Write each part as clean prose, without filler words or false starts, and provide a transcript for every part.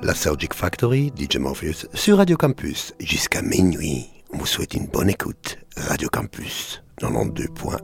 La Surgic Factory, DJ Morpheus, sur Radio Campus, jusqu'à minuit. On vous souhaite une bonne écoute. Radio Campus, 92.1.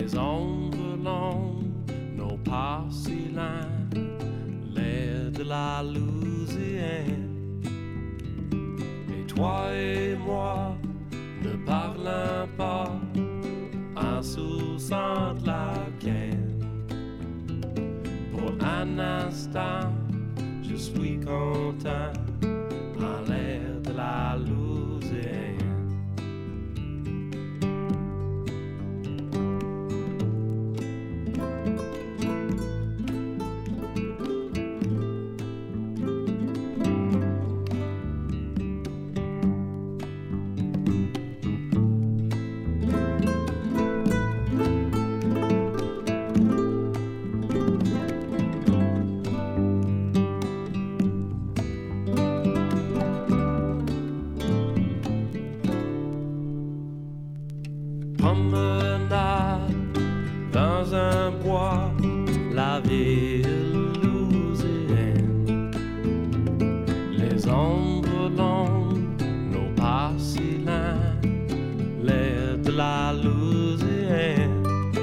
Les ombres longues, nos pas si loin, l'air de la Louisiane. Et toi et moi ne parlons pas en sous-sang de la canne. Pour un instant, je suis content en l'air de la Louisiane. Dans un bois, la ville louisienne. Les ombres longues, nos pas si loin, l'air de la Louisiane.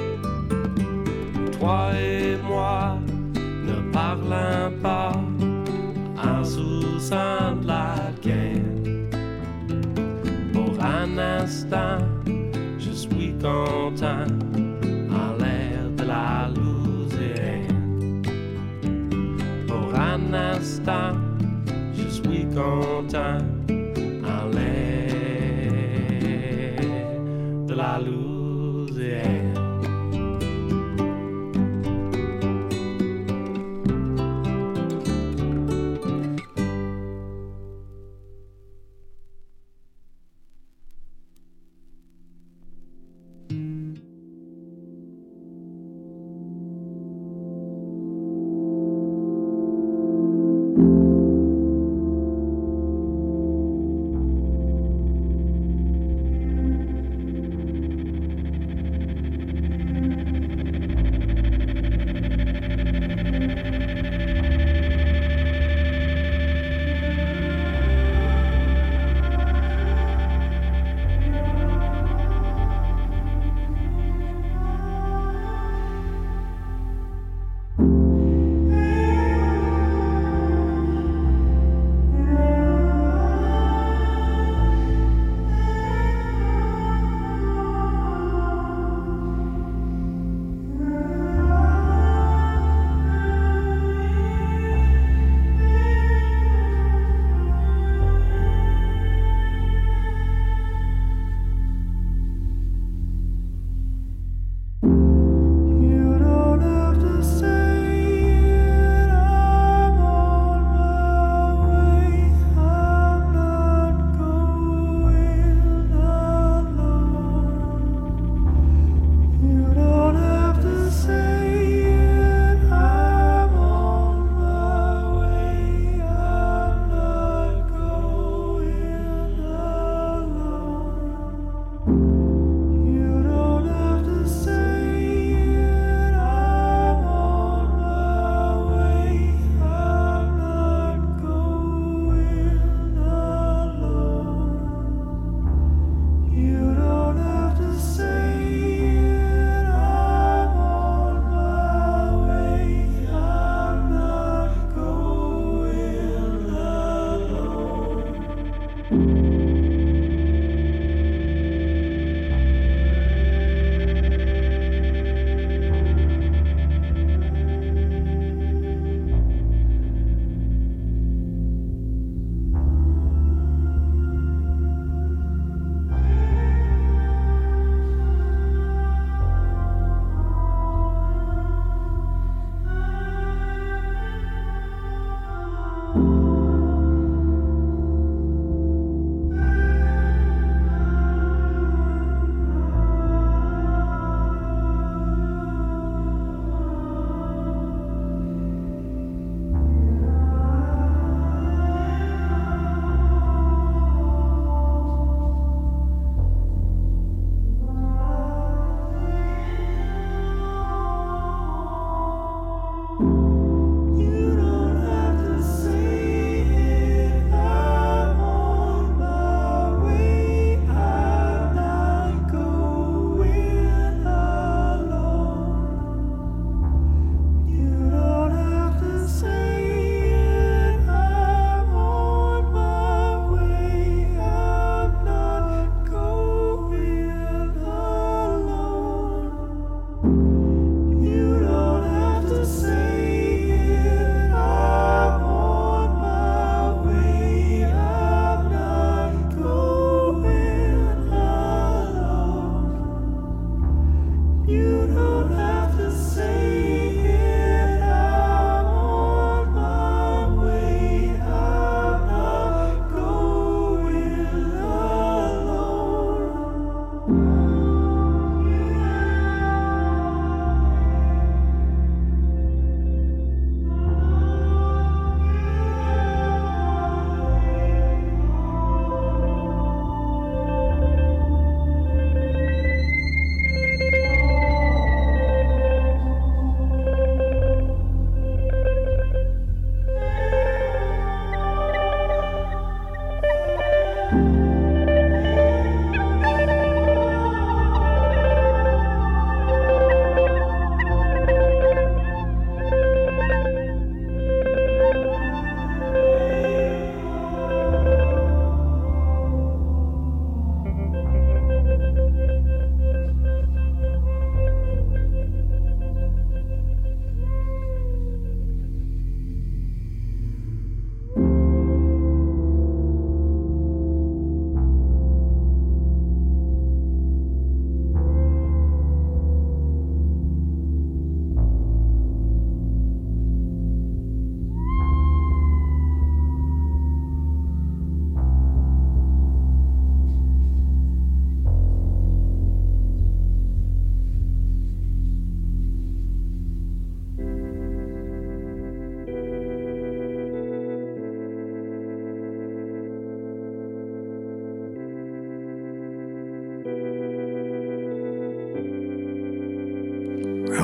Toi et moi ne parlons pas en sous-sang de la canne. Pour un instant, je suis content en l'air de la Louisiane. Pour un instant, je suis content en l'air de la Louisiane.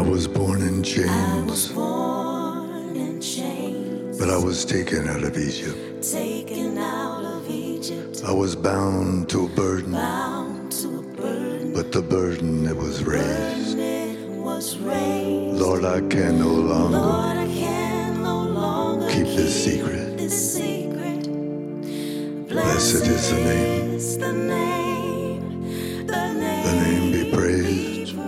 I was born in chains. I was born in chains. But I was taken out of Egypt. Taken out of Egypt. I was bound to a burden. Bound to a burden. But the burden it was raised. It was raised. Lord, I can no longer. Lord, I can no longer keep this secret. This secret. Blessed is the name. Is the name. The name. The name be praised.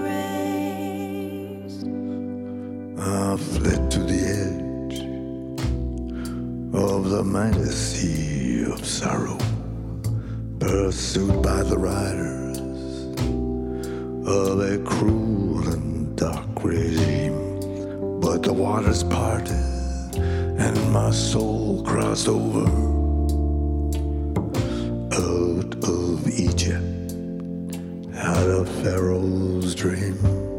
I fled to the edge of the mighty sea of sorrow, pursued by the riders of a cruel and dark regime. But the waters parted and my soul crossed over out of Egypt, out of Pharaoh's dream.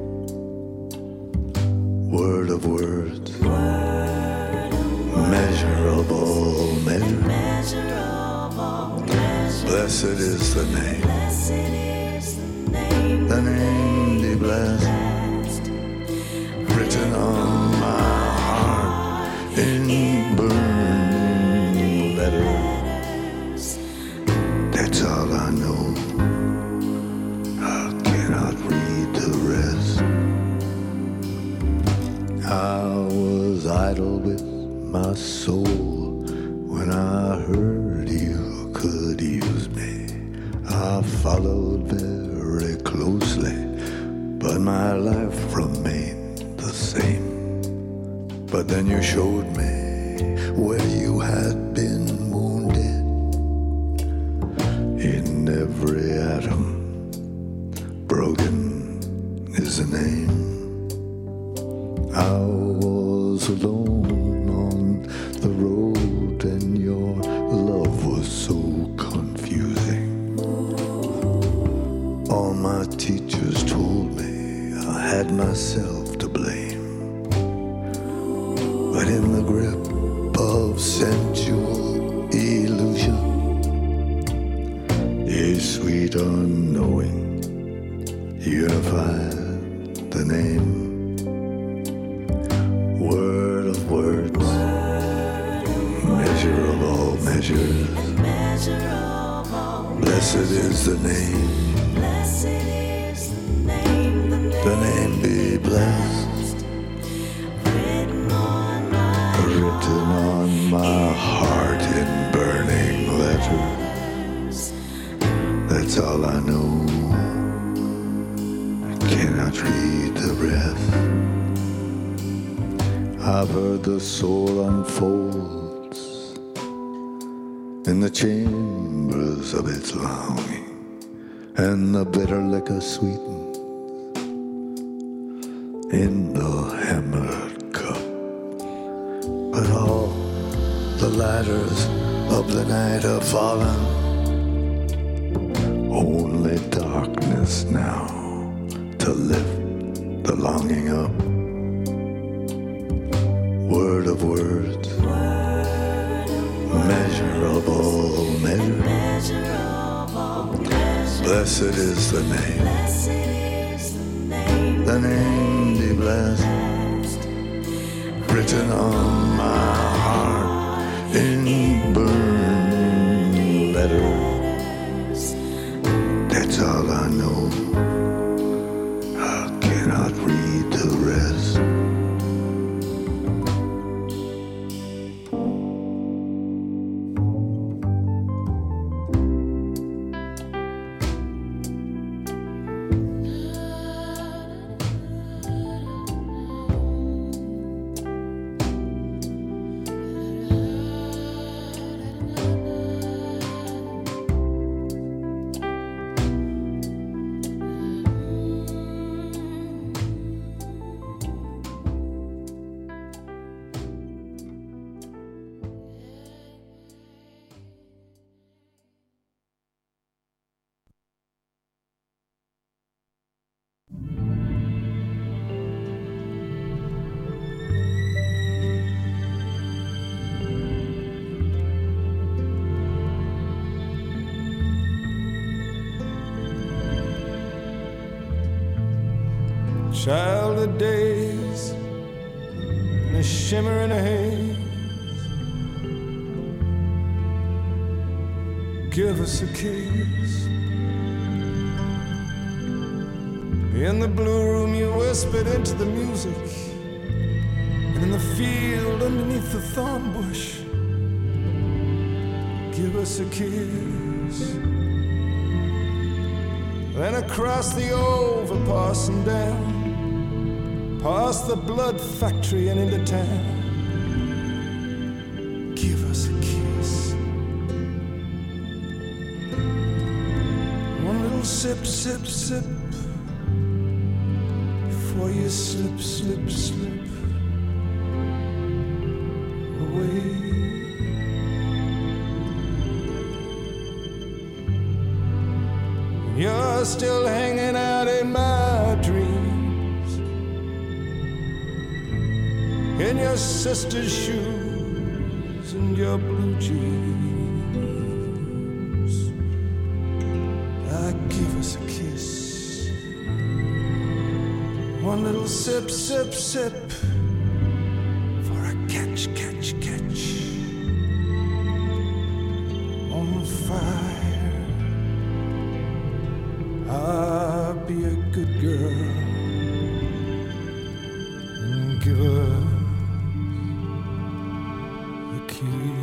Word of words, measure of all measures. Blessed is the name. The name be blessed. Written on my heart in burning letters. That's all I know. I cannot read the rest. I was idle with my soul when I heard you could use me. I followed very closely, but my life remained the same. But then you showed me where you had been wounded. In every atom, broken is the name. I was alone on the road and your love was so confusing. All my teachers told me I had myself to blame. But in the grip of sensual illusion, a sweet unknowing unified the name. Word of words, measure of all measures. Blessed is the name. The name be blessed. Written on my heart in burning letters. That's all I know. I cannot read the rest. I've heard the soul unfolds in the chambers of its longing, and the bitter liquor sweetens in the hammered cup. But all the ladders of the night have fallen, only darkness now to lift the longing up. Word of words, measure of all measures. Blessed is the name. The name be blessed. Written on my heart in burning letters. That's all I know. I cannot read the rest. childhood days in a shimmering haze. Give us a kiss. In the blue room you whispered into the music, and in the field underneath the thorn bush, give us a kiss. Then across the overpass and down, past the blood factory and into town, give us a kiss. One little sip, sip, sip, before you slip, slip, slip away. You're still hanging out in my dreams, in your sister's shoes and your blue jeans. Give us a kiss. One little sip, sip, sip, for a catch, catch, catch on fire. I'll be a good girl and give her a kiss.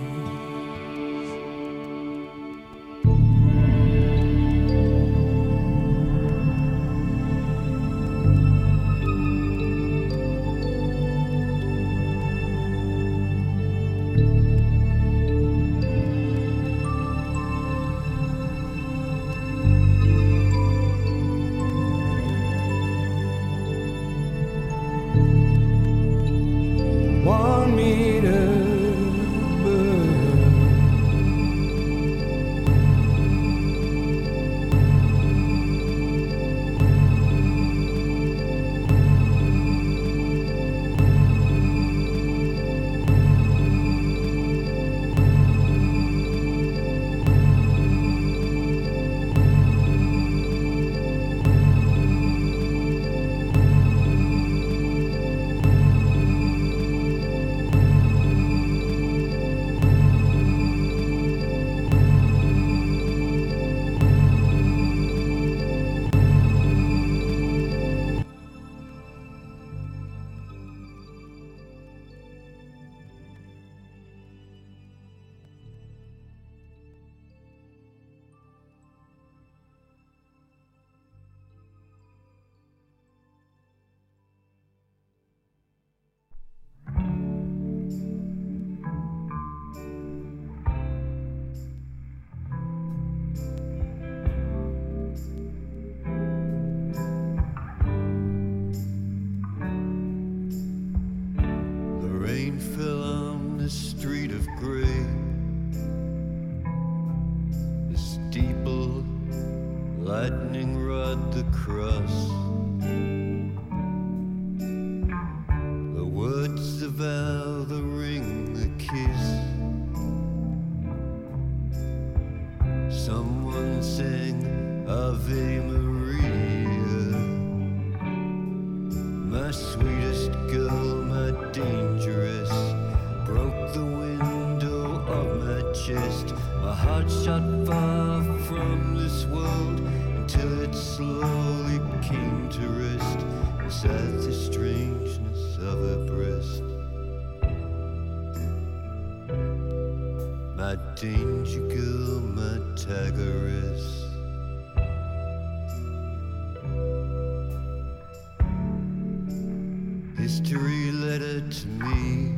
History letter to me,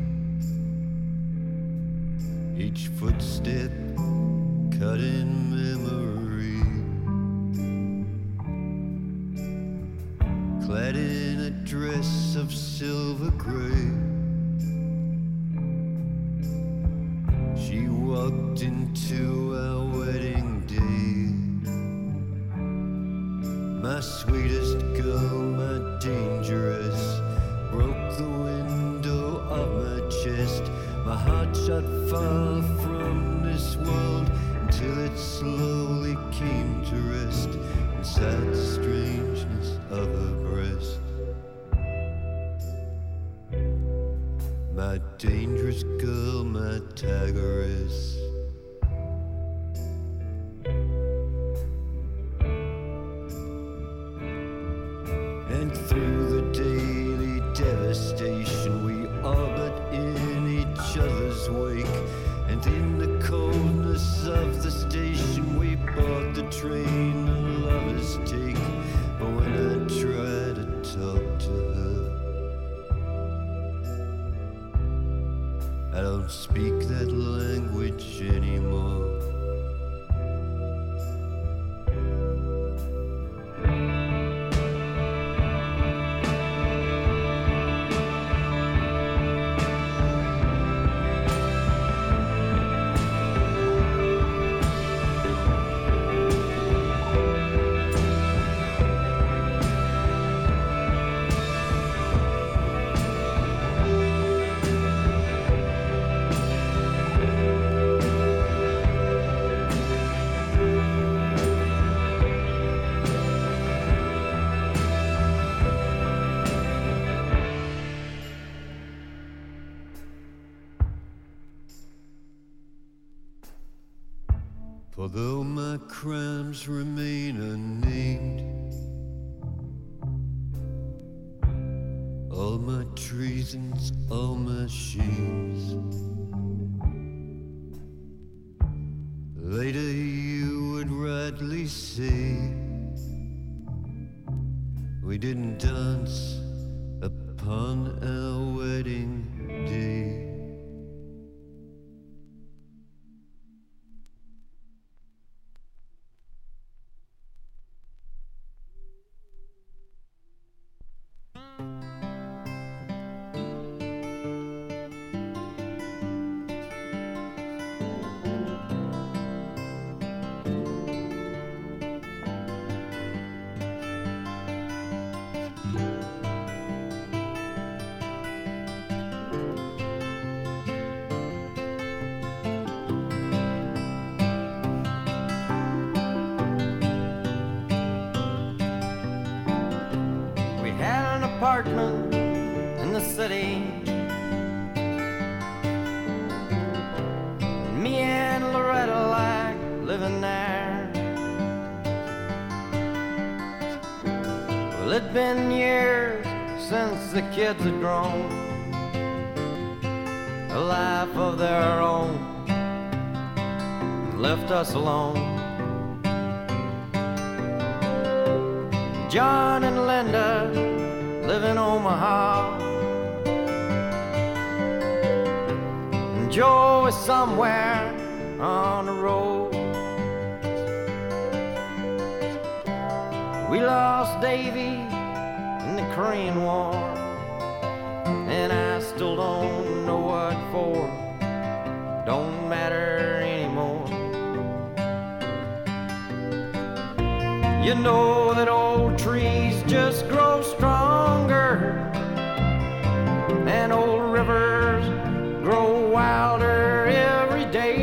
each footstep cut in memory, clad in a dress of silver gray. She walked into our wedding day, my sweetest girl, my dangerous, broke the window of my chest. My heart shot far from this world until it slowly came to rest inside the strangeness of her breast. went through the daily devastation. We orbit in each other's wake, and in the coldness of the station we bought the train the lovers take. But when I try to talk to her, I don't speak that language anymore. For though my crimes remain unnamed, all my treasons, all my shames, later you would rightly say we didn't dance upon our wedding day. Apartment in the city. Me and Loretta like living there. Well, it'd been years since the kids had grown a life of their own and left us alone. John and Linda live in Omaha, and Joe is somewhere on the road. We lost Davy in the Korean War, and I still don't know what for. Don't matter anymore. You know that old trees just grow stronger, and old rivers grow wilder every day.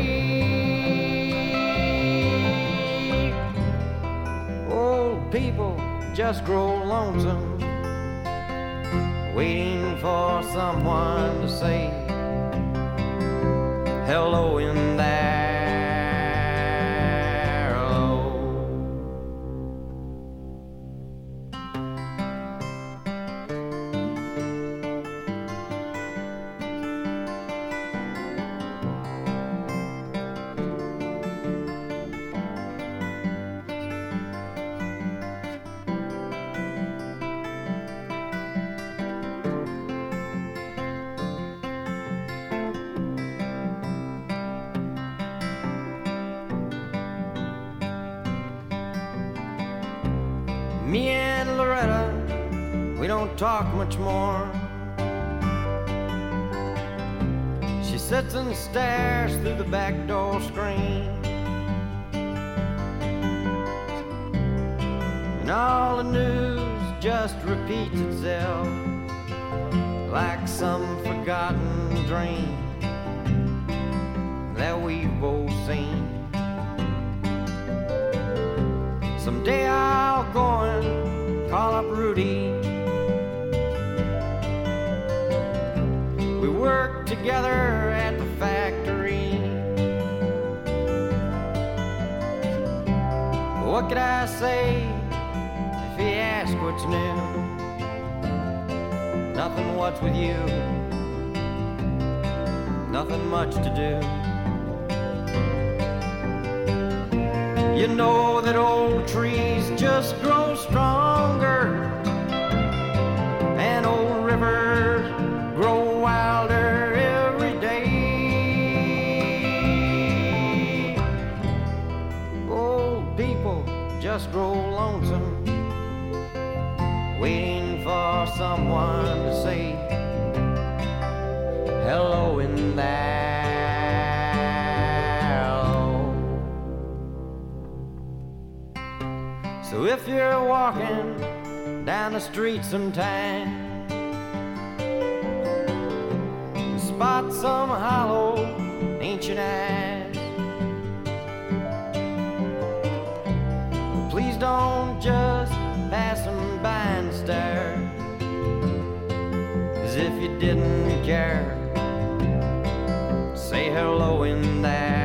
Old people just grow lonesome, waiting for someone to say hello in there. Me and Loretta, we don't talk much more. She sits and stares through the back door screen, and all the news just repeats itself like some forgotten dream that we've both seen. Someday I'll go and call up Rudy. We worked together at the factory. What could I say if he asked what's new? Nothing, what's with you? Nothing much to do. You know that old trees just grow stronger, and old rivers grow wilder every day. Old people just grow lonesome, waiting for someone to say hello in there. So if you're walking down the street sometime, spot some hollow ancient eyes, please don't just pass them by and stare as if you didn't care. Say hello in there.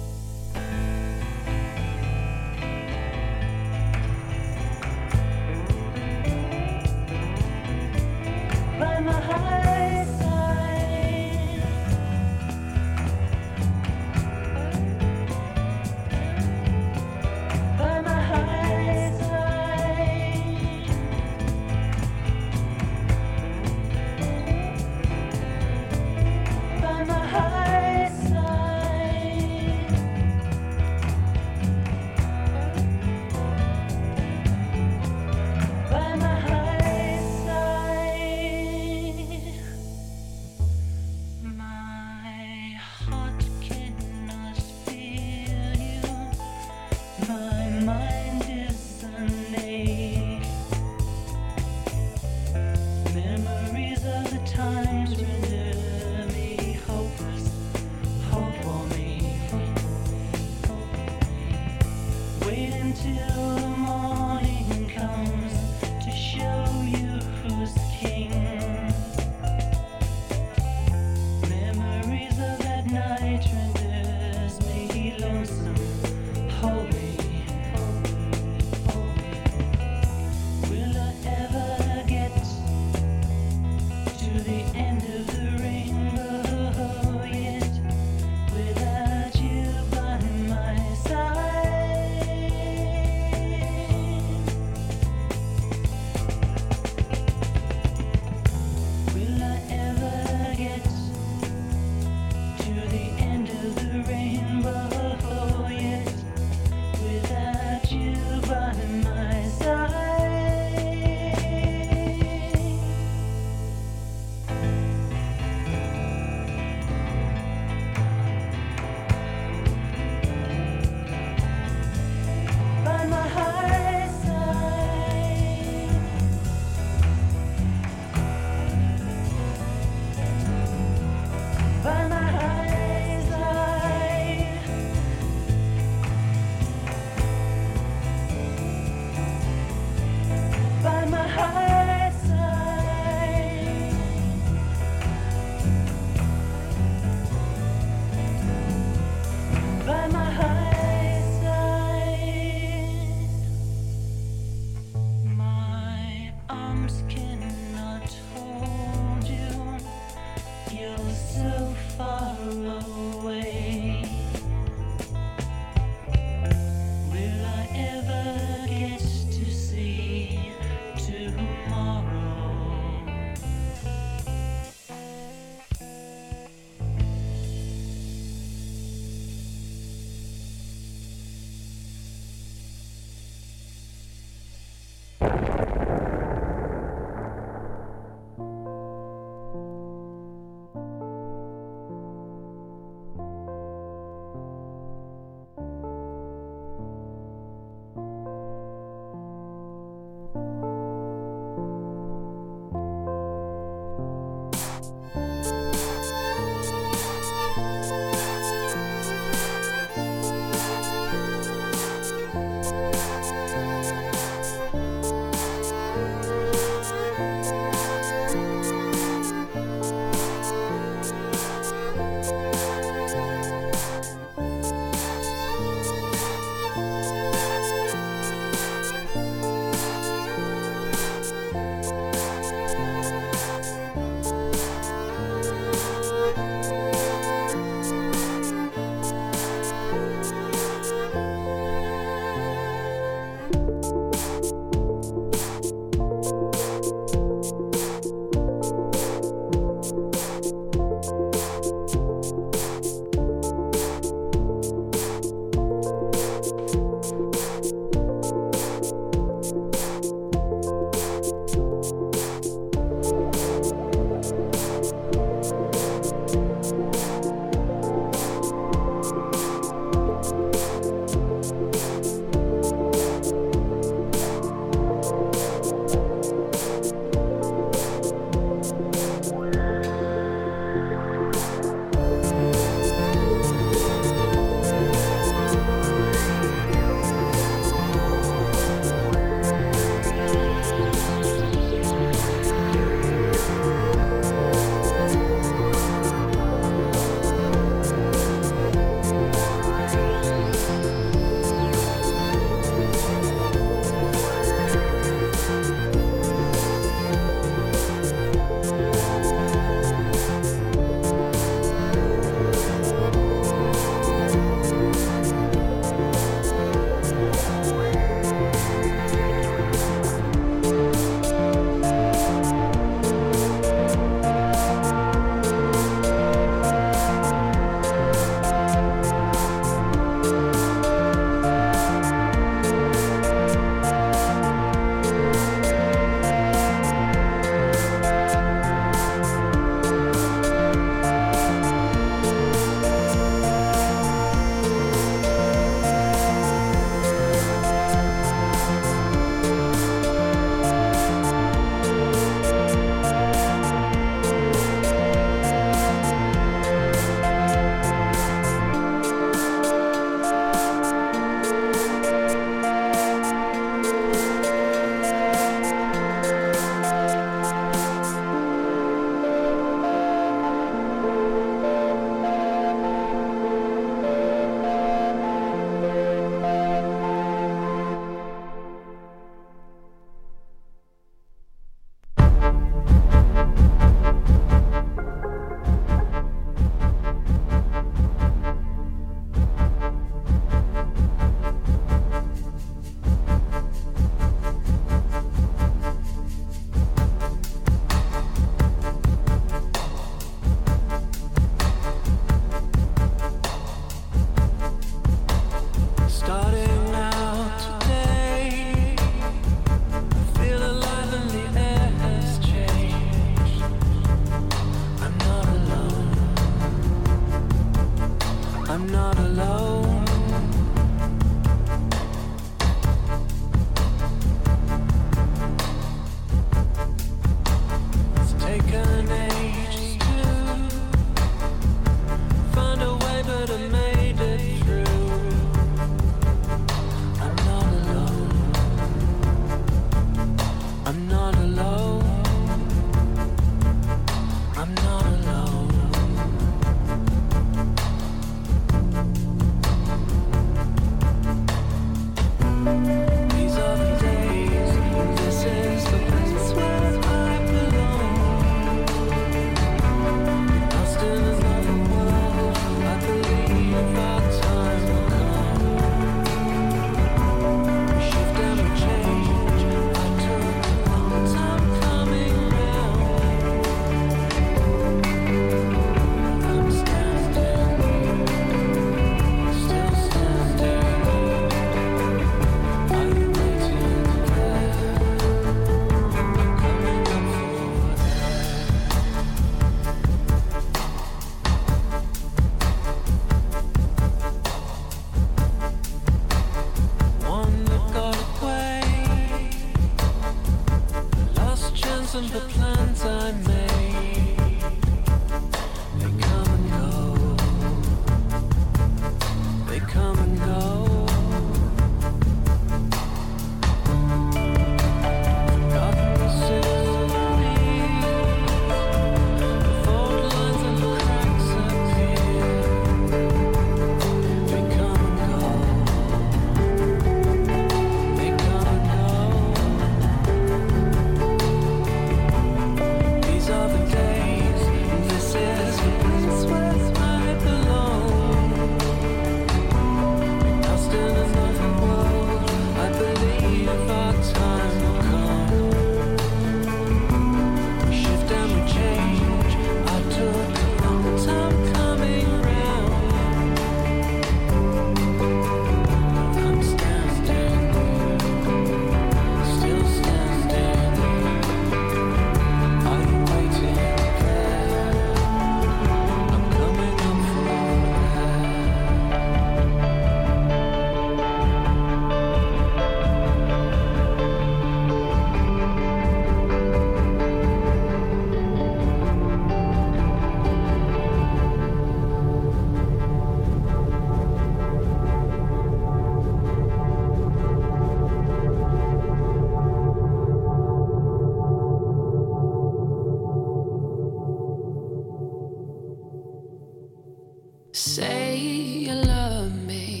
Say you love me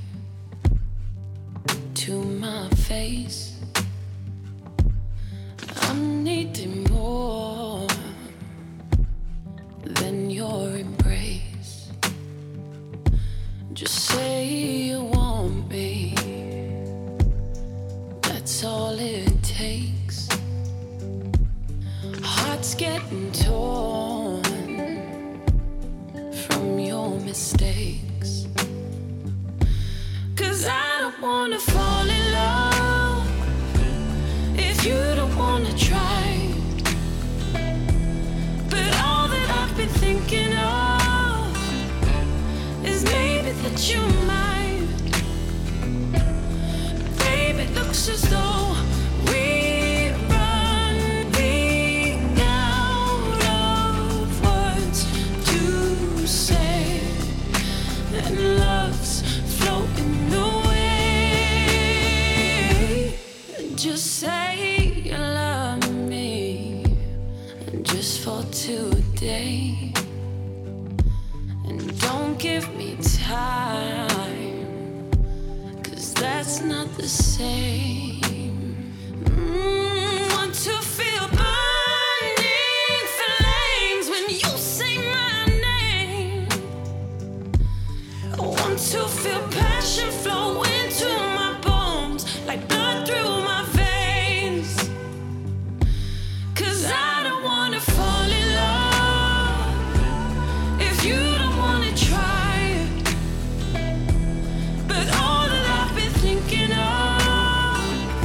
to my face. I'm needing more than your embrace. Just say you want me. That's all it takes. Heart's getting torn from your mistakes. 'Cause I don't wanna fall in love if you don't wanna try. But all that I've been thinking of is maybe that you might. Babe, it looks as though we're running out of words to say, and love's floating away. Just say you love me, just for today, and don't give me time, 'cause that's not the same. Want to feel burning flames when you say my name. I want to feel passion flow into my bones, like blood through my veins. 'Cause I don't wanna fall in love if you don't wanna try. But all that I've been thinking of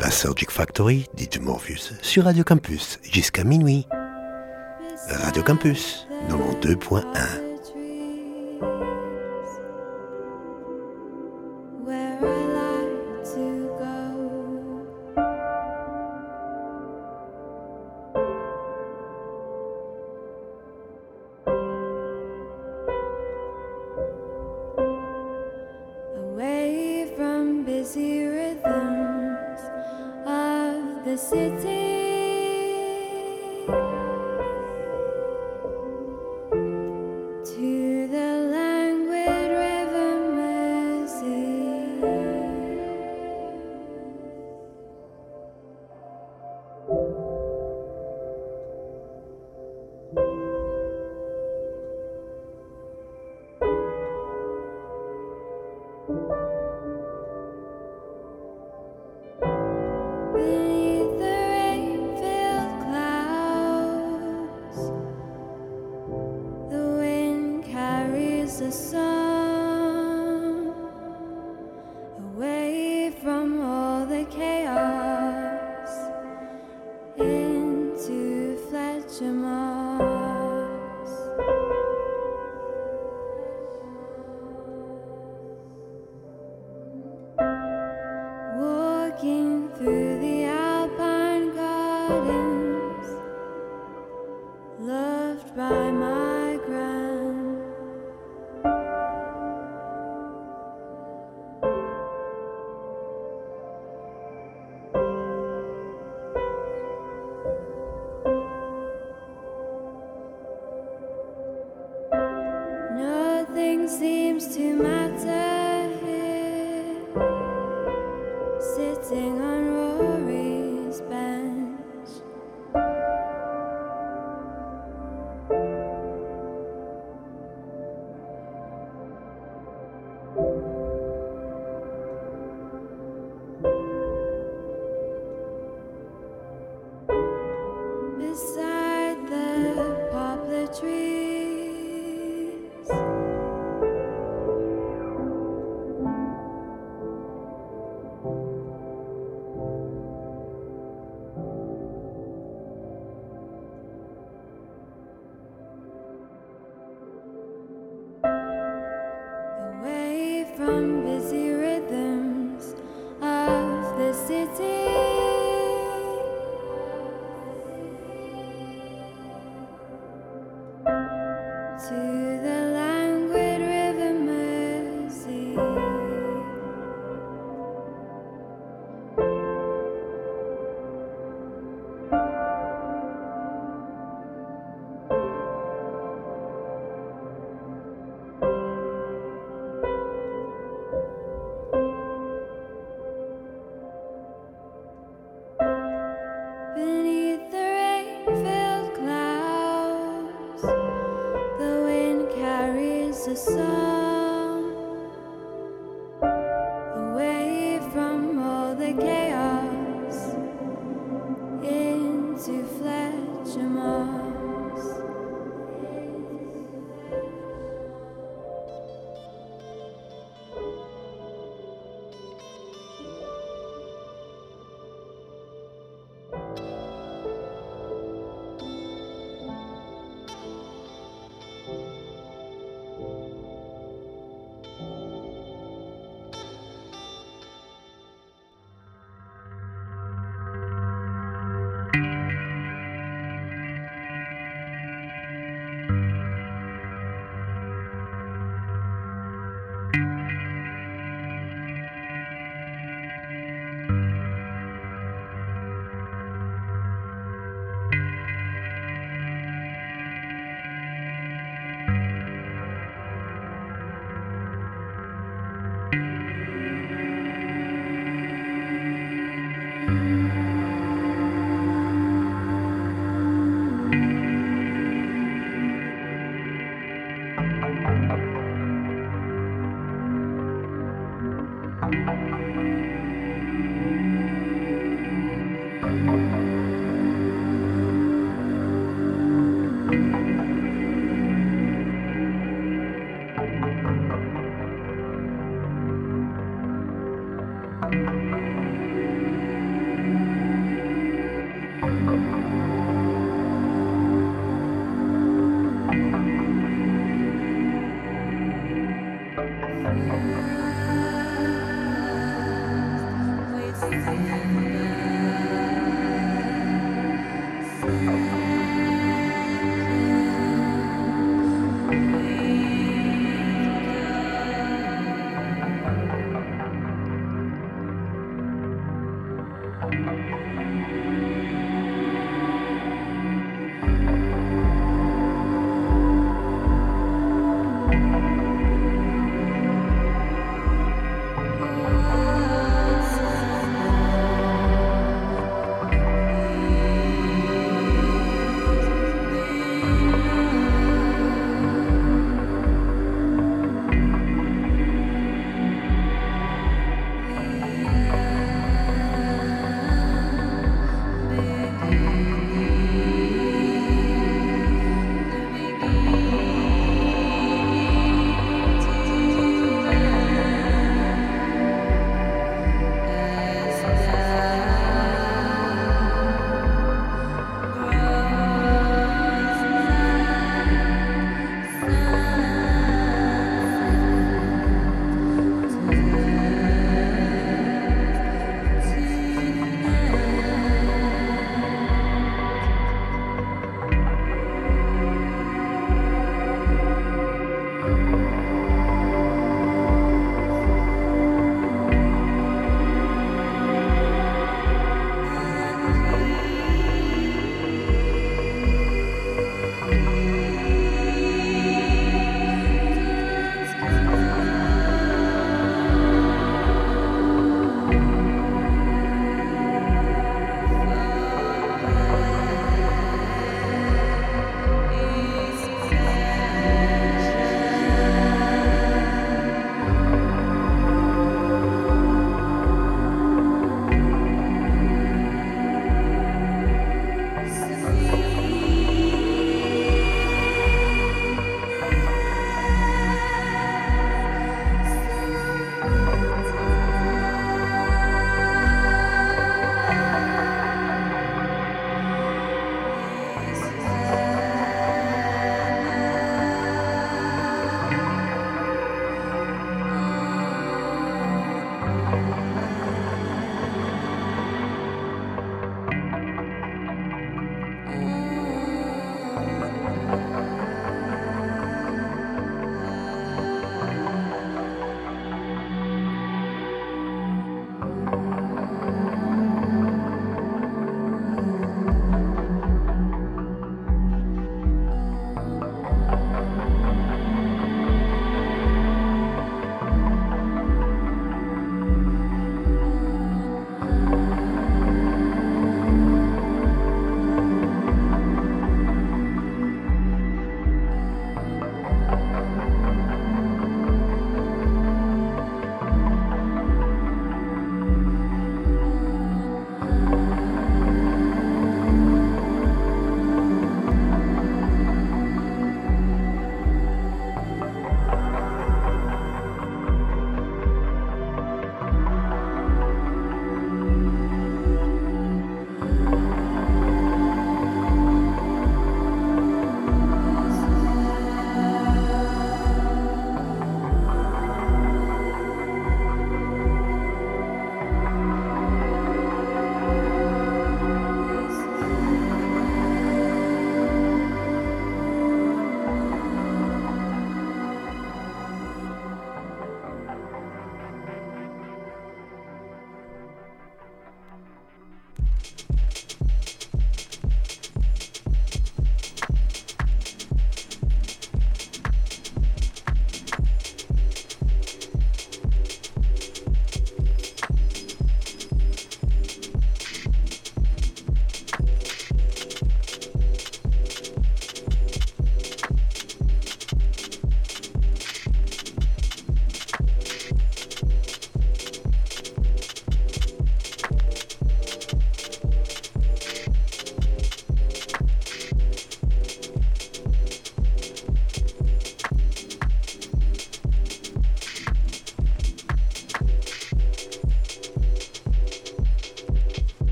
Surgic Factory, DJ Morpheus, sur Radio Campus, jusqu'à minuit. Radio Campus, 92.1.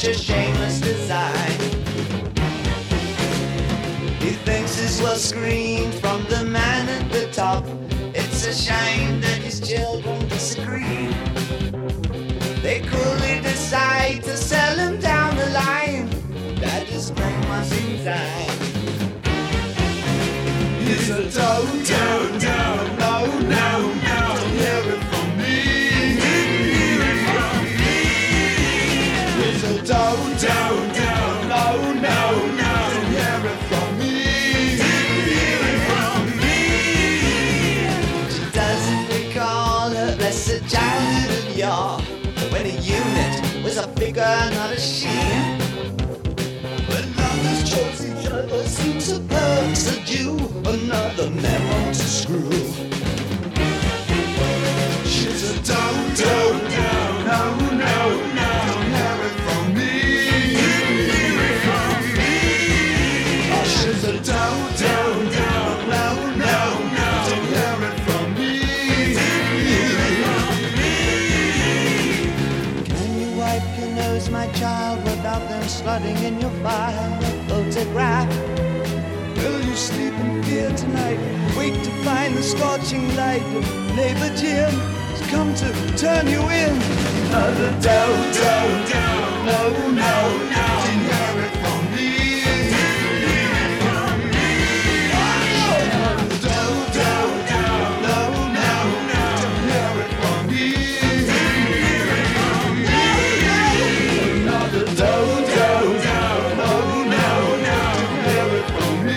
such a shameless design. He thinks his love screams from the man at the top. It's a shame that his children disagree. They coolly decide to sell him down the line. That is grandma's in time. He's a toad, toad, toad, no, no, no, don't hear it from me. Hear it from me. He's a toad, toad, toad, no, no, no, don't hear it from me. Hear it from me. She doesn't recall her blessed childhood of yore, when a unit was a figure, not a she. When lovers chose each other, seems a perks a Jew, another memo to screw. She's a toad, toad, toad, no, no, no, don't hear it from me. Hear it from me. Oh, she's a toad, toad, toad, no, no, no, don't hear it from me. Hear it from me. Can you wipe your nose, my child, without them sliding in your file photograph? Will you sleep in fear tonight? Wait to find the scorching light of neighbor Jim has come to turn you in. Another down, down, down. No, no, no. Did you hear it from me? Hear it from me. Another down, down, down. No, no, no. Did you hear it from me? Hear it from me. Another down, down, down. No, no, no. Did you hear it from me?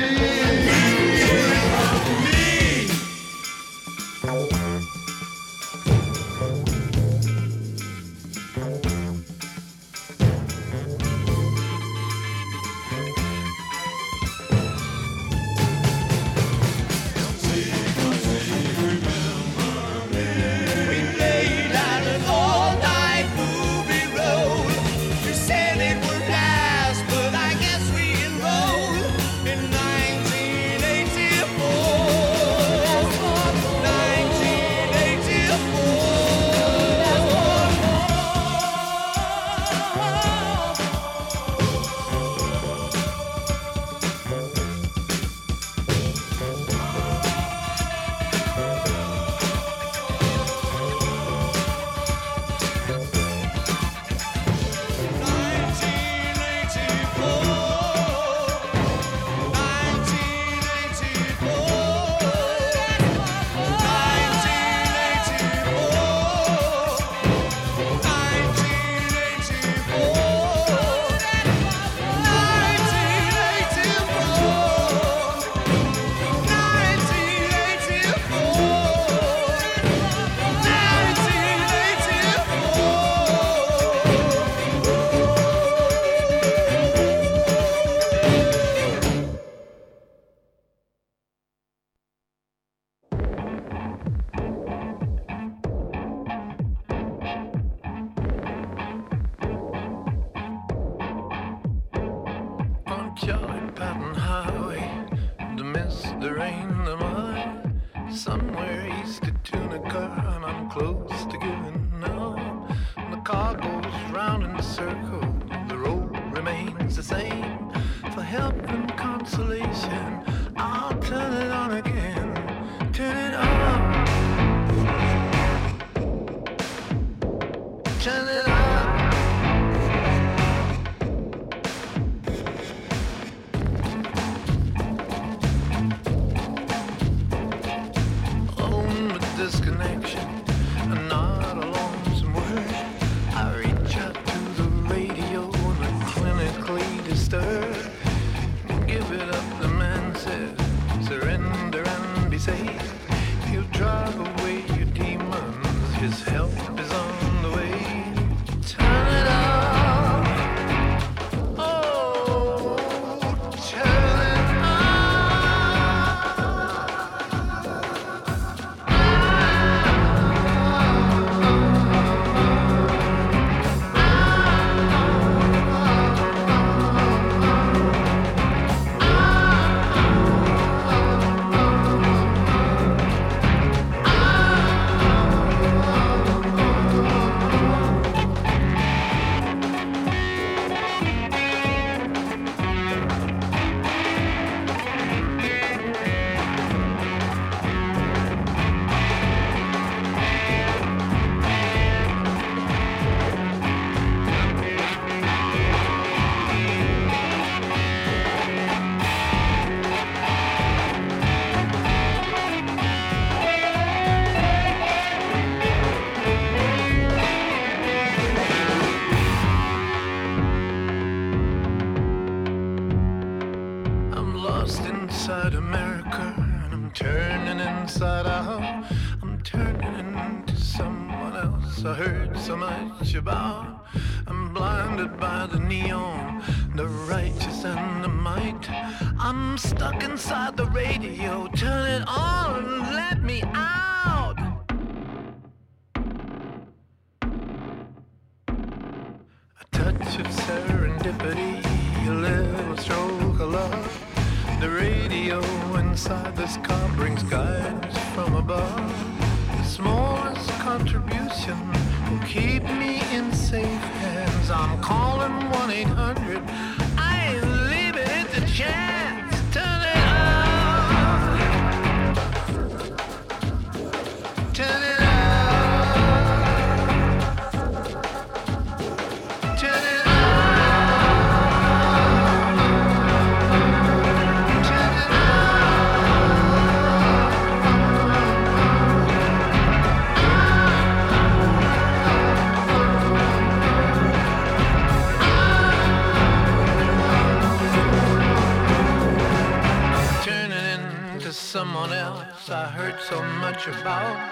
I heard so much about. I'm blinded by the neon, the righteous and the might. I'm stuck inside the radio, turn it on, let me out. A touch of serendipity, a little stroke of love. The radio inside this car brings guidance from above. The smallest contribution will keep me in safe hands. I'm calling 1-800. I ain't leaving it to chance. Turn it on. Turn it on. Turn it on. Someone else I heard so much about.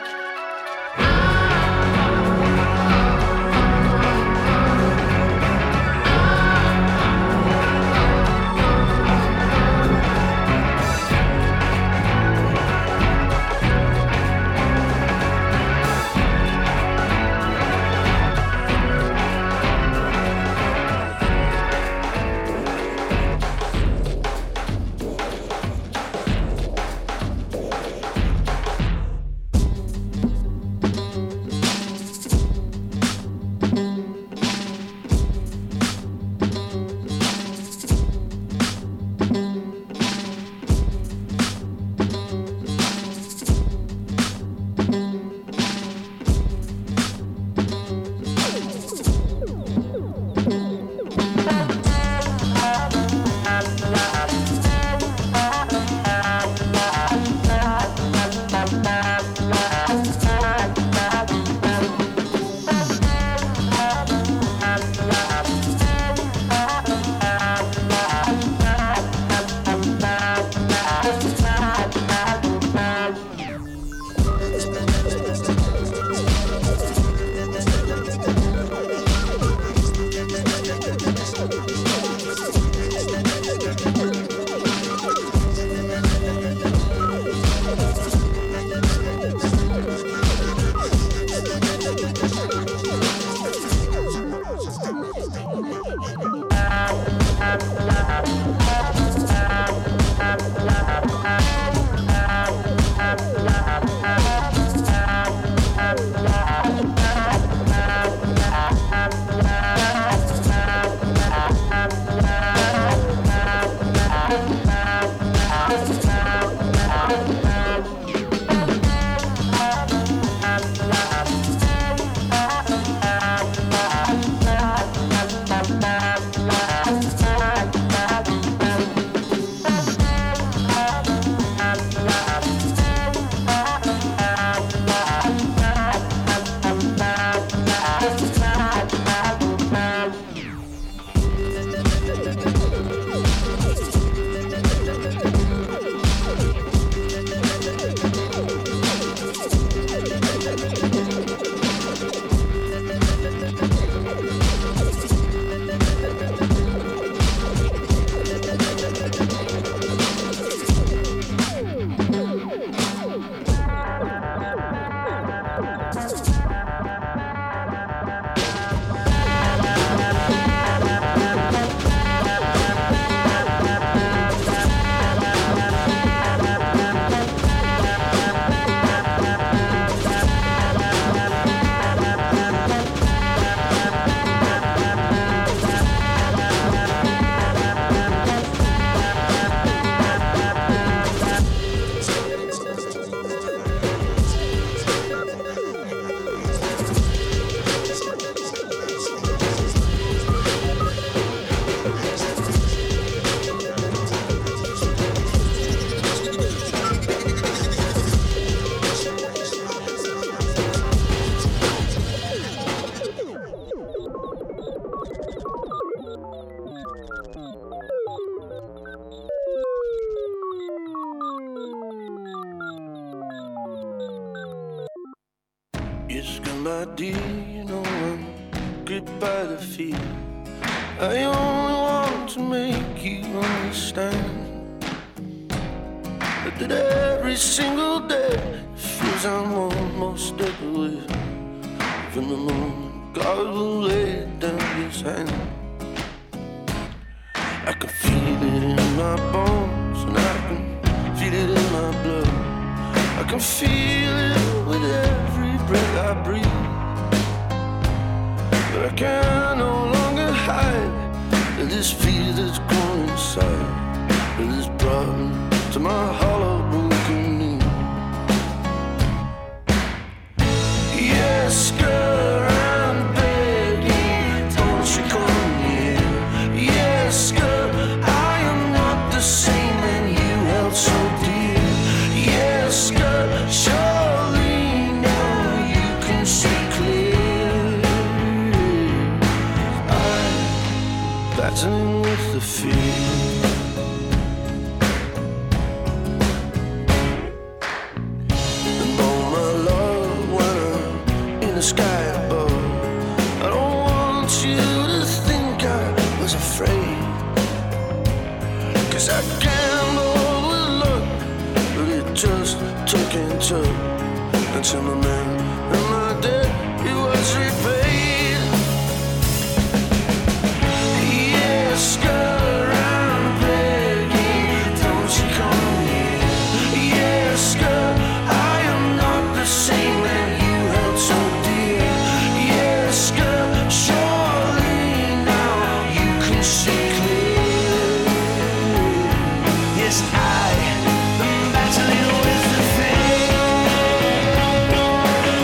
Yes, girl, my dear, you know I'm gripped by the fear. I only want to make you understand that every single day it feels I'm almost dead away. Even the moment God will lay down his hand, I can feel it in my bones and I can feel it in my blood. I can feel it with every breath I breathe. But I can no longer hide this fear that's grown inside, that has brought me to my hollow broken knee. Yes, girl, I'm begging, don't you come here. Yes, girl, I am not the same man you held so dear. Yes, girl, surely now you can see clear. I'm battling with the fear. And oh my love, when I'm in the sky above, I don't want you to think I was afraid, 'cause I gambled with luck, but it just took and took until my man and my debt, it was repaid. Yes, girl, I'm begging, don't you come here. Yes, girl, I am not the same man you held so dear. Yes, girl, surely now you can see clear. Yes, I am battling with the fear.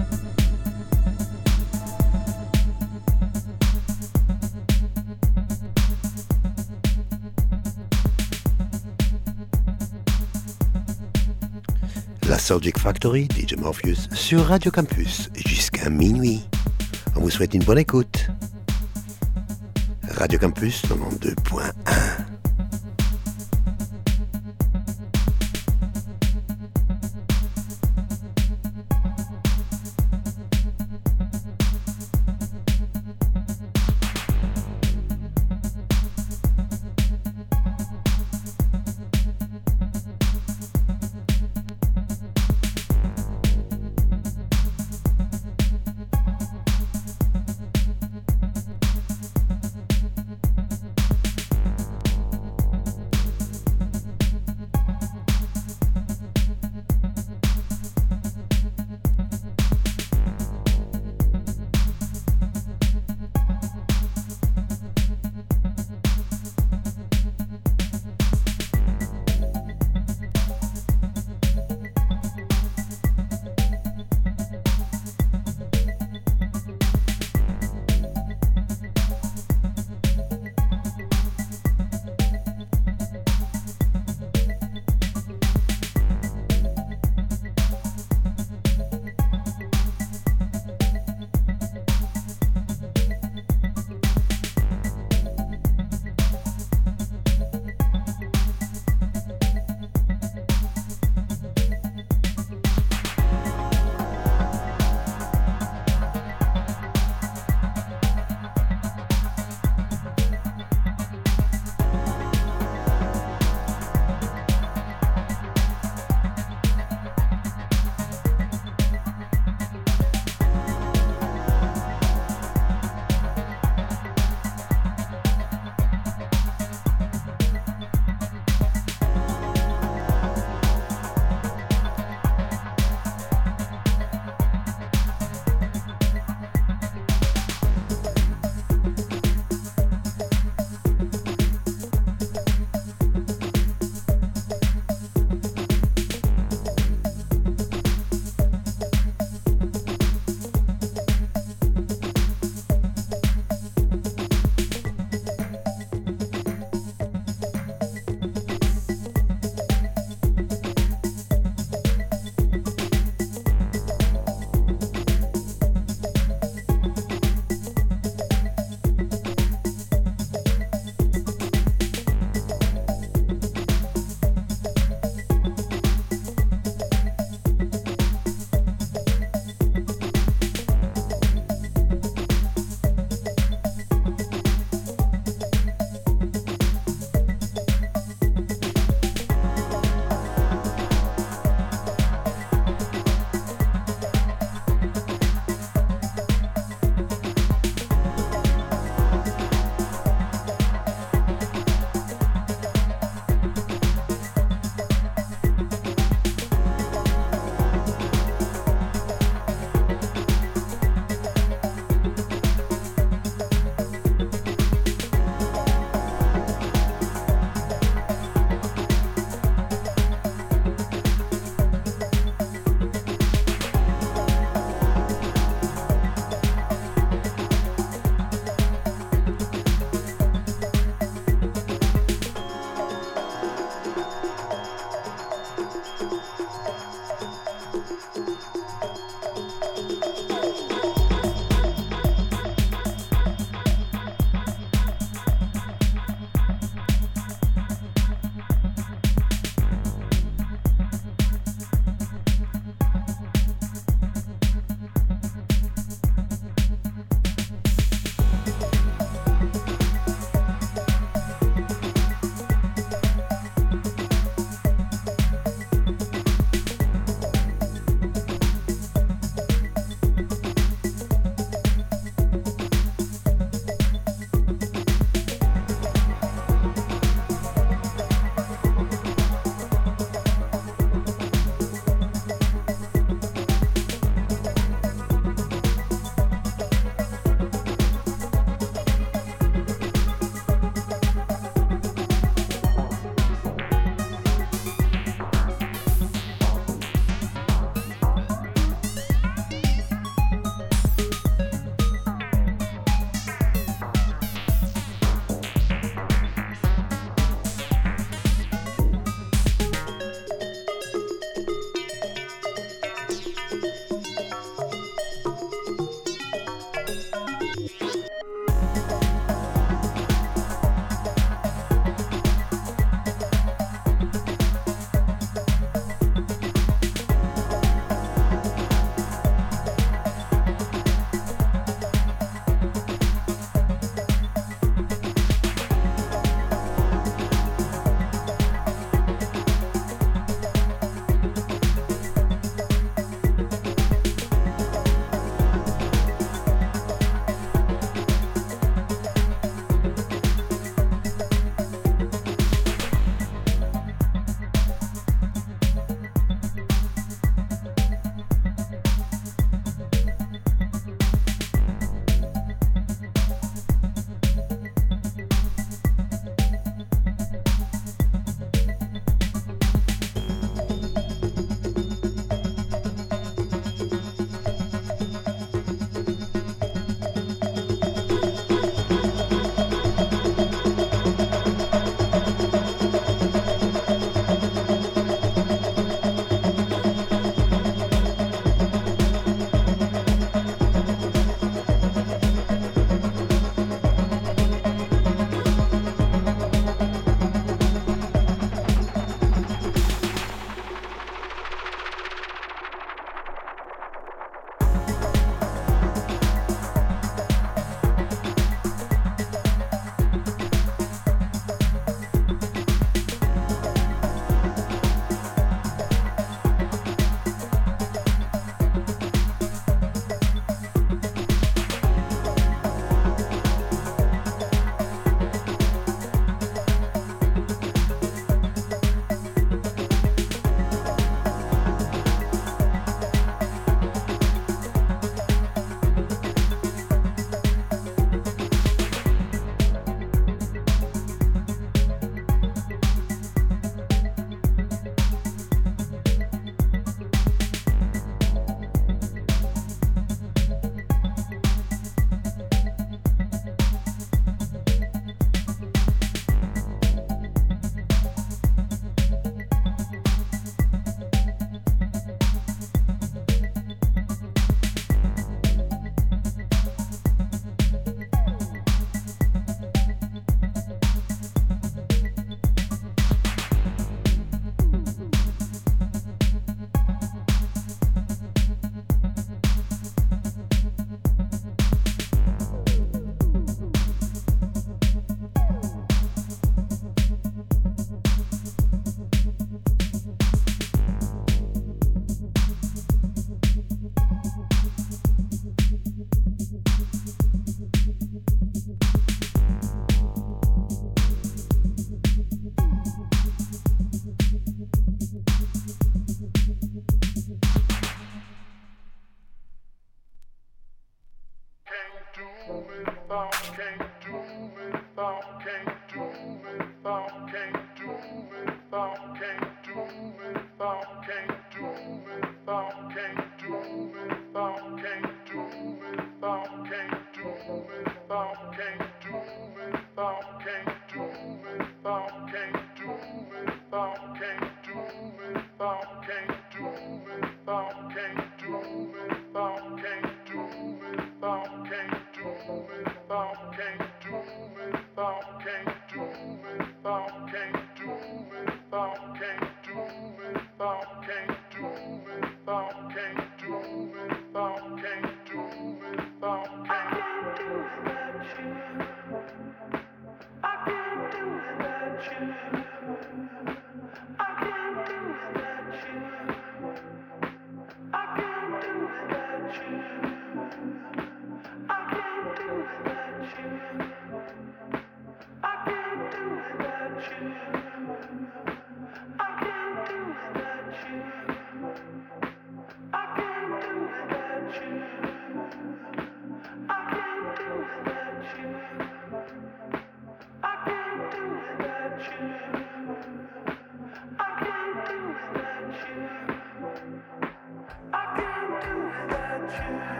La Souljack Factory, DJ Morpheus, sur Radio Campus, jusqu'à minuit. On vous souhaite une bonne écoute. Radio Campus 92.1.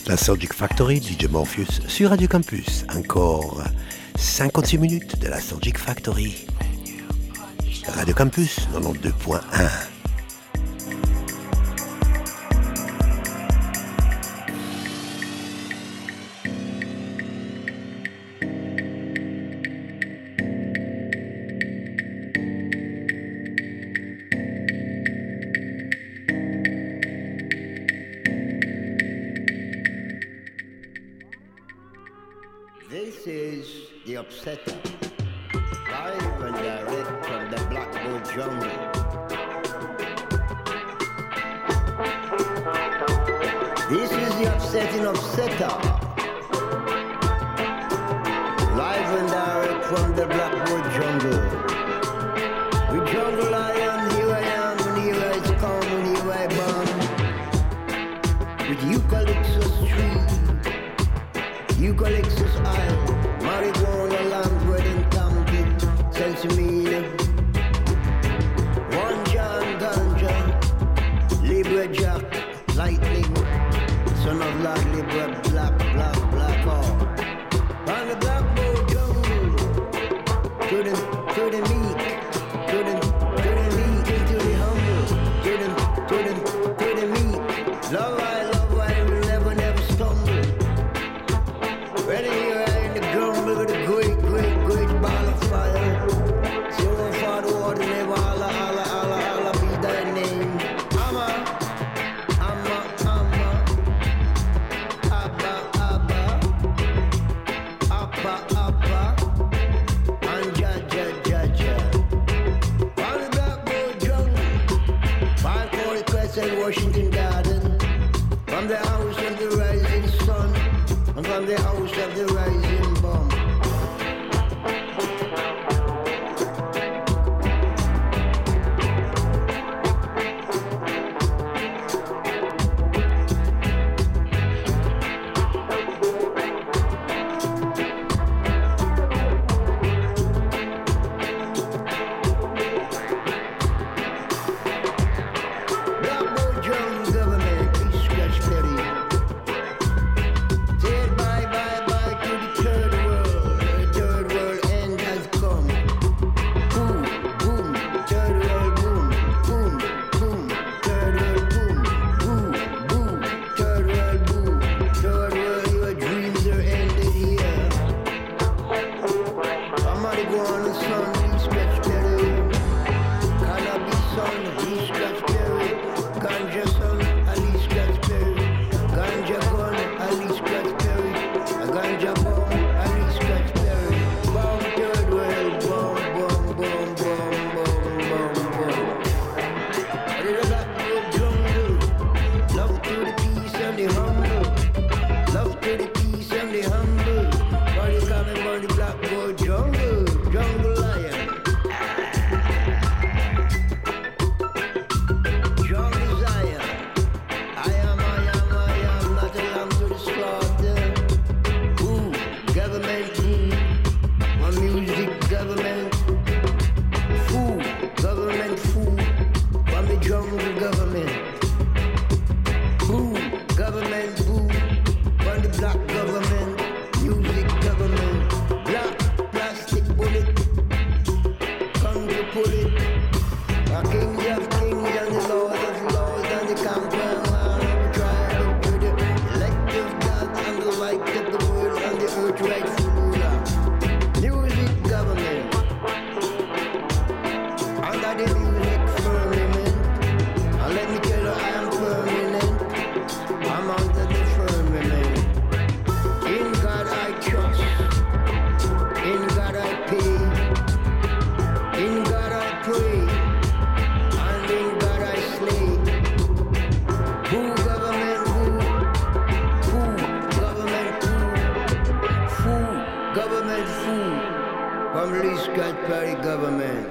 La Soulgic Factory, DJ Morpheus sur Radio Campus. Encore 56 minutes de la Soulgic Factory. Radio Campus 92.1. This is the Upsetter, live and direct from the Blackboard Jungle. This is the Upsetting Upsetter, live and direct from the Blackboard Jungle. With Jungle Lion, here I am, and here I come, and here I born. With Eucalyptus tree. Eucalyptus Isle, marijuana land where in county, Sensimina. One John Ganja, Libra Jack, Lightning, son of Lord Libra, black, all. On the Blackboard Jungle, to the meek, to the meek, to the humble, to the meek. Love I will never stumble. Ready here in the jungle with a great ball of fire. So far the water never Allah, be thy name. Amma, Abba, and Jaja. On the Blackboard Jungle, 540 Crescent, Washington Garden, from the house of the rising sun. And from the house of the rising bomb. Blackboard Jungle government, please scratch Perry. Bye to the third world. The third world end has come. Boom, third world boom, third world boom, third world boom. Third world, your dreams are ended here. Somebody go on the sun, please scratch Perry. Cannabis son, please scratch Perry. Ganja son, at least scratch Perry. Ganja gun, at least scratch Perry. A ganja bomb, at least scratch Perry. Bomb third world, bomb. But in the Blackboard Jungle, love to the peace and the humble. Love to the peace and the humble. Body coming from the Blackboard Jungle, Jungle Lion. Jungle Zion. I am not a lamb to the slaughter. Ooh, government, my music government. Food, from the jungle government. Government, from the black government. Music government. Black plastic bullet, conga bullet. The kings of kings and the lords of lords and the compound of the tribe of the elective gods and the light of the world and the earth rightful ruler. Music government. Under the music firmament. And let me tell you I am permanent. I'm under the firmament. In God I trust. In God I pay. In God I pray. And in God I slay. Who government who? Government who? From Lee Scott Perry government.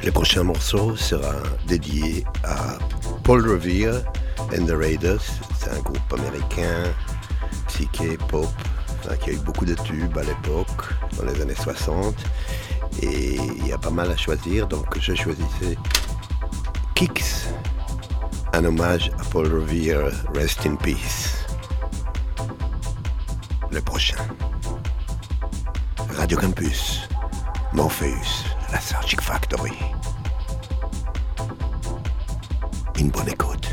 Le prochain morceau sera dédié à Paul Revere and the Raiders. C'est un groupe américain, psyché, pop, qui a eu beaucoup de tubes à l'époque, dans les années 60. Et il y a pas mal à choisir, donc je choisissais Kicks, un hommage à Paul Revere, Rest in Peace. Le prochain. Radio Campus, Morpheus, la Sargic Factory. Une bonne écoute.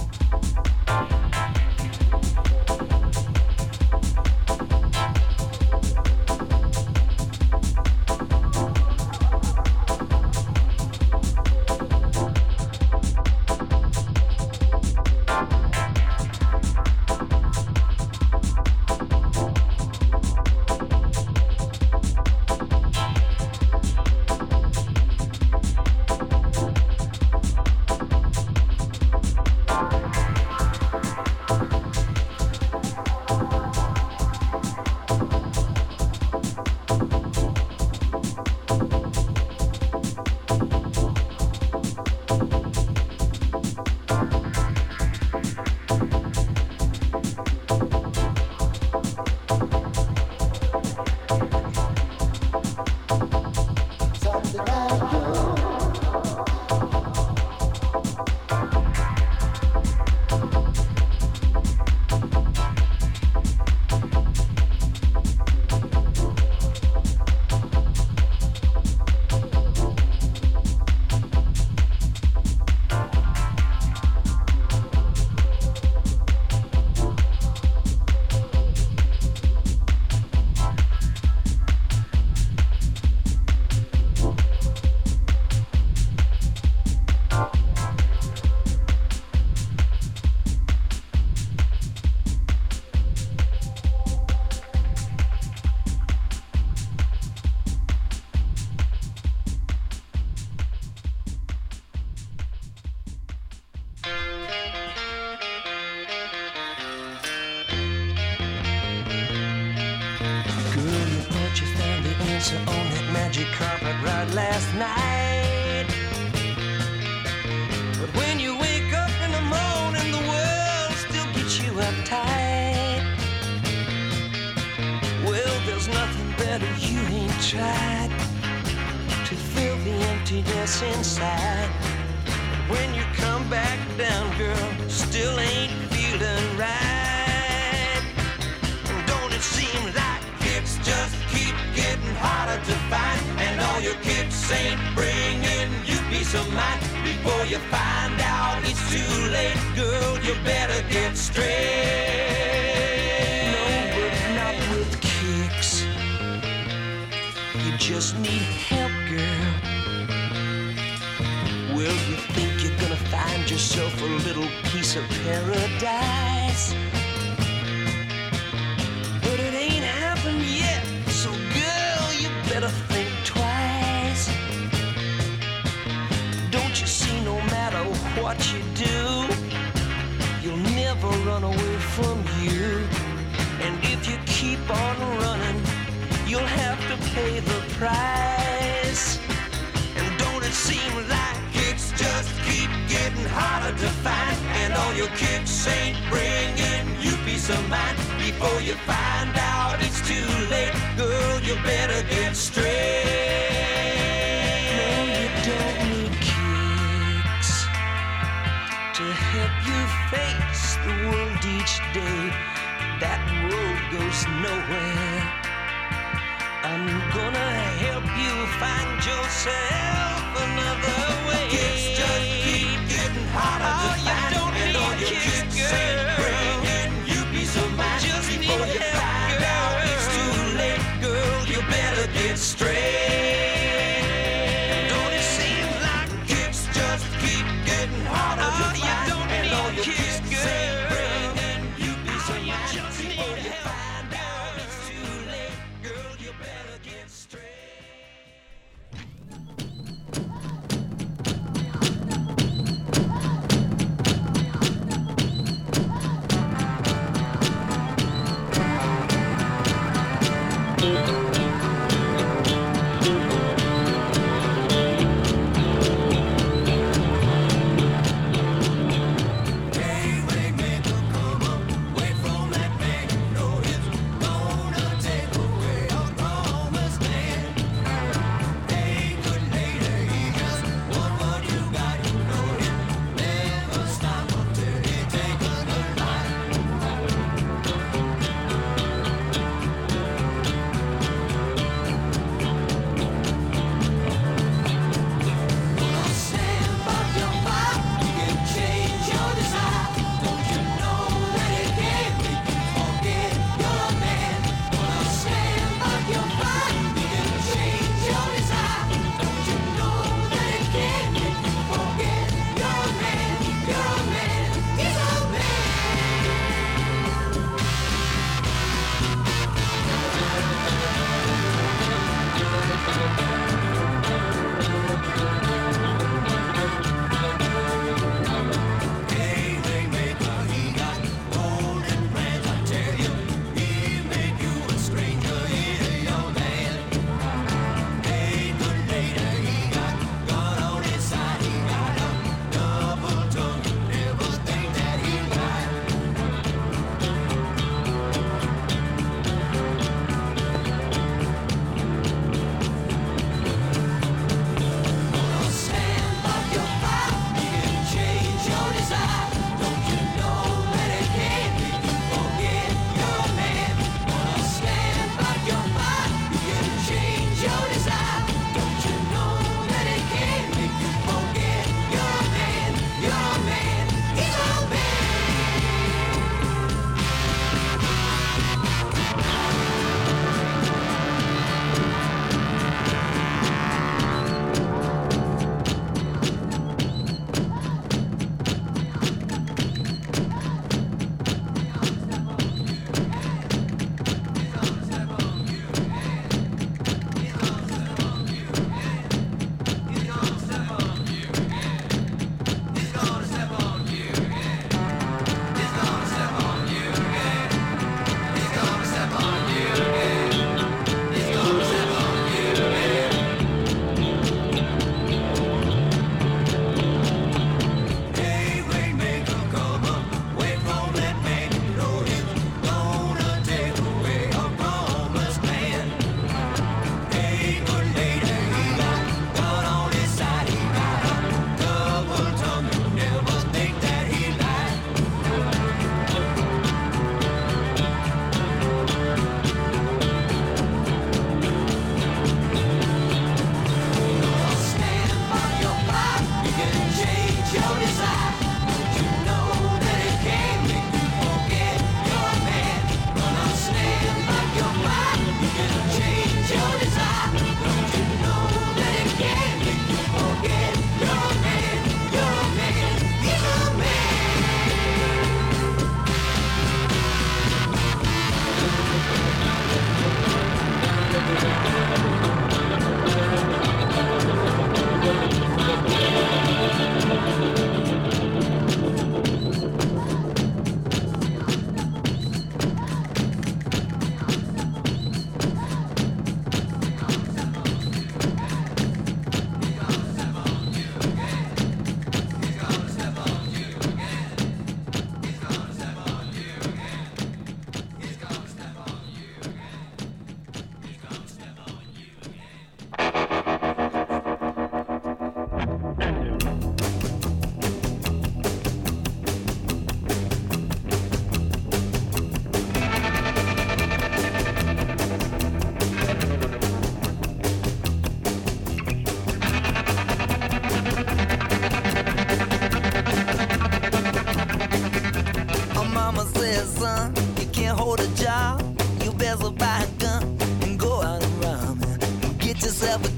On that magic carpet ride last night. But when you wake up in the morning, the world still gets you uptight. Well, there's nothing better you ain't tried to fill the emptiness inside. But when you come back down, girl, still ain't feeling right. Don't it seem like it's just keep getting harder to find, and all your kicks ain't bringing you peace of mind? Before you find out it's too late, girl, you better get straight. No, but not with kicks. You just need help, girl. Well, you think you're gonna find yourself a little piece of paradise, but it ain't happened yet. So girl, you better think twice. Don't you see, no matter what you do, you'll never run away from you. And if you keep on running, you'll have to pay the price. And don't it seem like it's just keep getting harder to find, and all your kicks ain't bringing you peace of mind? Before you find out it's too late, girl, you better get straight. No, you don't need kicks to help you face the world each day. That road goes nowhere. I'm gonna help you find yourself another way. Kicks just keep getting harder to find, and all your kicks ain't bringing you peace of mind. Just before you find out it's too late, girl, you better get straight. Don't it seem like kicks just keep getting harder to find, and all your kicks ain't bringing you peace of mind? Just before you find out it's too late, girl, you better get straight.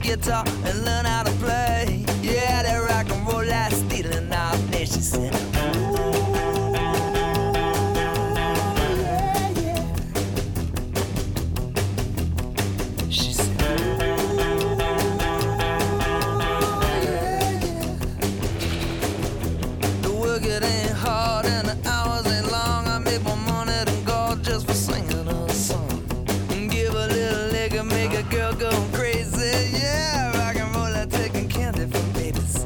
guitar and learn how to play. Yeah, that rock and roll like stealing our day, she said. It ain't hard and the hours ain't long. I make more money than gold just for singing a song. Give a little leg and make a girl go crazy. Yeah, rock and roll like taking candy from babies.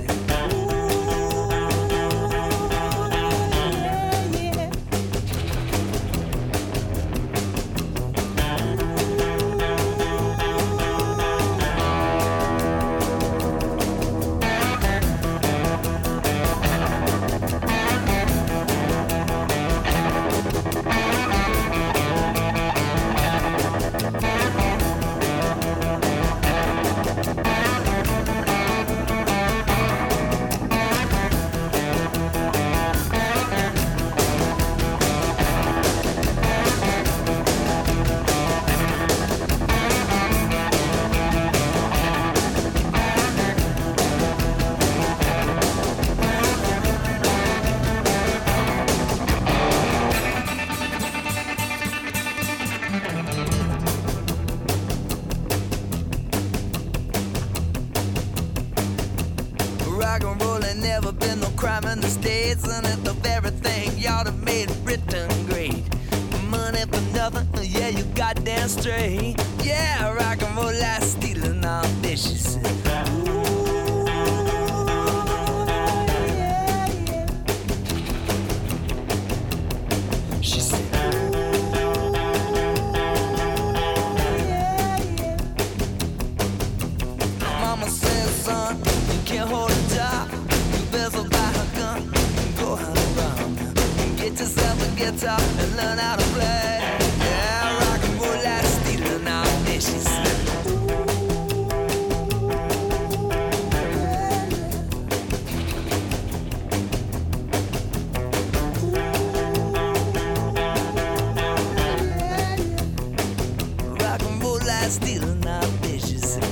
Rock and roll ain't never been no crime in the States, and it's the very thing y'all have made Britain great. Money for nothing, yeah, you goddamn straight. Yeah, rock and roll like stealing all day, she said. She said. Mama says, son, you can't hold a job. You better buy a gun and go hunt around. Get yourself a guitar and learn how to play. Yeah, rock and roll like stealing all day, she said. Rock and roll like stealing all day, she said.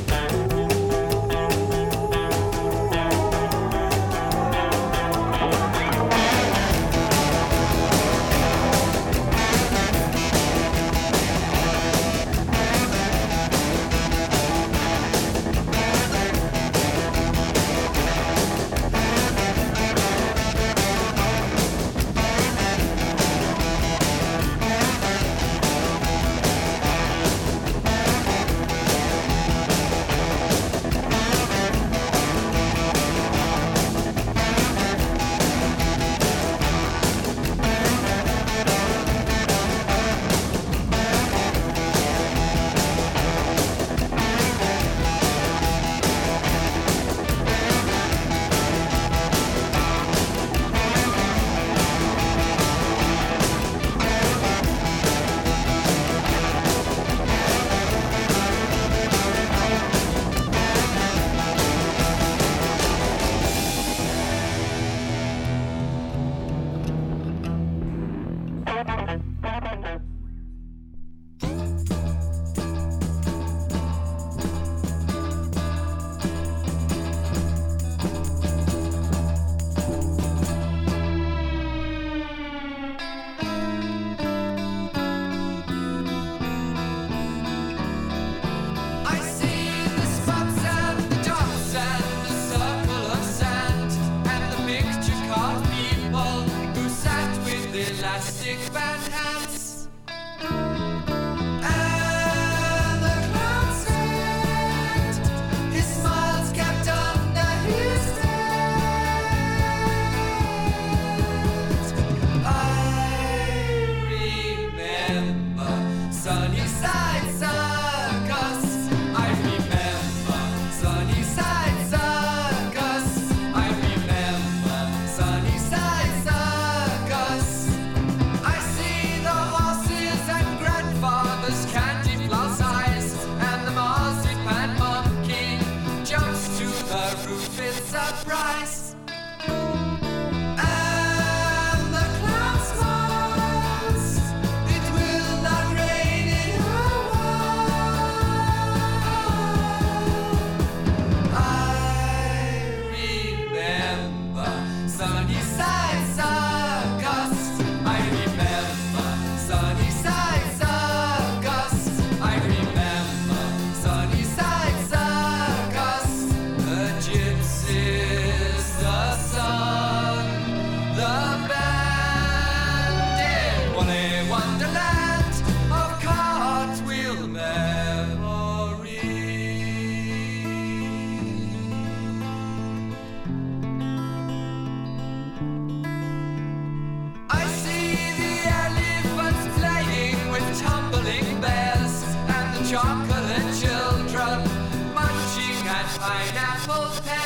apples,